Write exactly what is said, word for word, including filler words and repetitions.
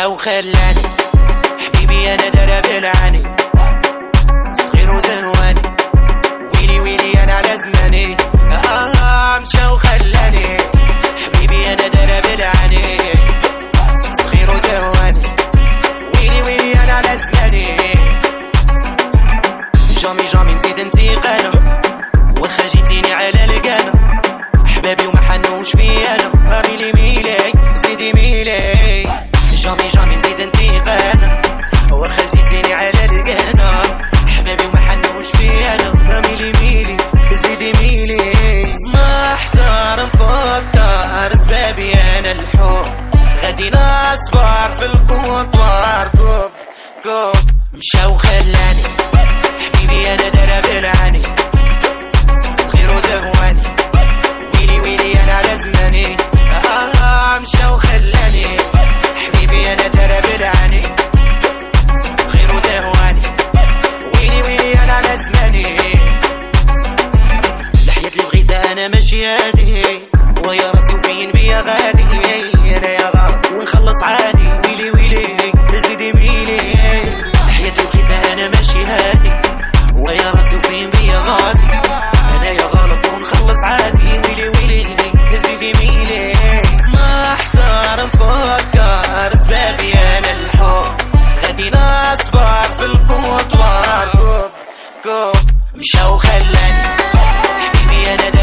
مشى وخلاني حبيبي انا درب العاني صغير وزهواني ويلي ويلي انا على زماني. آه مشى وخلاني حبيبي انا درب العاني صغير وزهواني ويلي ويلي انا على زماني. جامي جامي نزيد انتقانا واخا جيتيني على القانا احبابي وما حنوش فيا انا ميلي ميلي زيدي ميلي. جامي جامي نزيد انتقانا واخا جيتيني على القانا احبابي وما حنوش فيا انا ميلي ميلي زيدي ميلي. ما احتار نفكر سبابي انا الحب غادي نصبر في الكوطوار كوب كوب. مشى وخلاني حبيبي انا درب العاني صغير وزهواني ويلي ويلي انا على زماني. آه مشى وخلاني حبيبي انا درب العاني صغير وزهواني ويلي ويلي انا على زماني. الحياة اللي بغيتها انا ماشي هادي ويا راسي وفين بيا غادي انا يا غلط ونخلص عادي ويلي ويلي زيدي ميلي. الحياة اللي بغيتها انا ماشي هادي ويا راسي وفين بيا غادي انا يا غلط ونخلص عادي ويلي ويلي زيدي ميلي. ما احتار نفكر سبابي انا الحب غادي نصبر في الكوطوار كوب كوب. مشى وخلاني حبيبي انا